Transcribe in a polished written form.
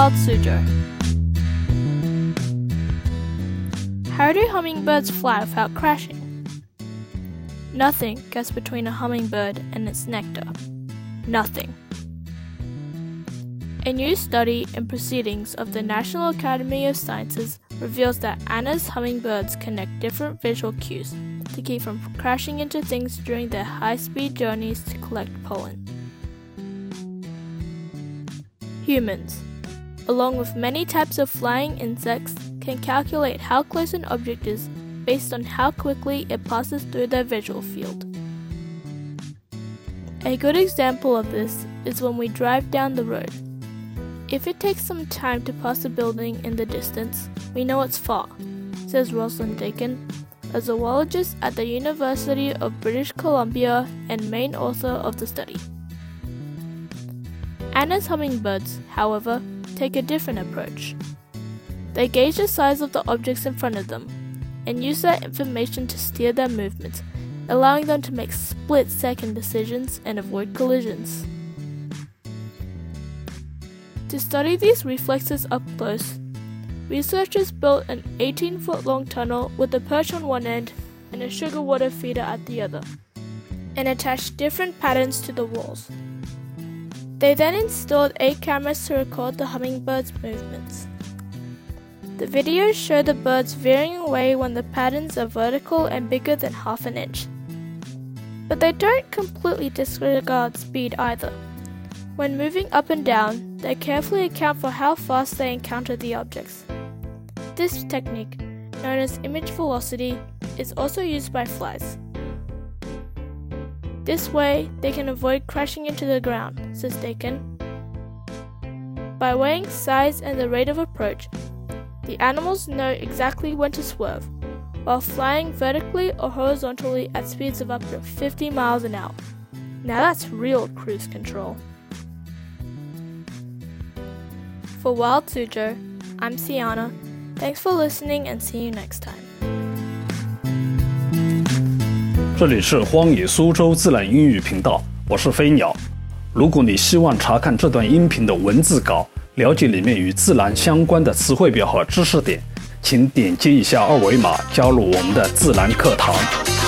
Wild Suzhou. How do hummingbirds fly without crashing? Nothing gets between a hummingbird and its nectar. Nothing. A new study in Proceedings of the National Academy of Sciences reveals that Anna's hummingbirds connect different visual cues to keep from crashing into things during their high-speed journeys to collect pollen. Humans, along with many types of flying insects, can calculate how close an object is based on how quickly it passes through their visual field. A good example of this is when we drive down the road. If it takes some time to pass a building in the distance, we know it's far, says Rosalind Dakin, a zoologist at the University of British Columbia and main author of the study. Anna's hummingbirds, however, take a different approach. They gauge the size of the objects in front of them and use that information to steer their movements, allowing them to make split-second decisions and avoid collisions. To study these reflexes up close, researchers built an 18-foot-long tunnel with a perch on one end and a sugar water feeder at the other, and attached different patterns to the walls. They then installed 8 cameras to record the hummingbirds' movements. The videos show the birds veering away when the patterns are vertical and bigger than half an inch. But they don't completely disregard speed either. When moving up and down, they carefully account for how fast they encounter the objects. This technique, known as image velocity, is also used by flies. This way, they can avoid crashing into the ground, says Dakin. By weighing size and the rate of approach, the animals know exactly when to swerve, while flying vertically or horizontally at speeds of up to 50 miles an hour. Now that's real cruise control. For Wild Suzhou, I'm Sienna. Thanks for listening and see you next time. 这里是荒野苏州自然英语频道，我是飞鸟。如果你希望查看这段音频的文字稿，了解里面与自然相关的词汇表和知识点，请点击一下二维码加入我们的自然课堂。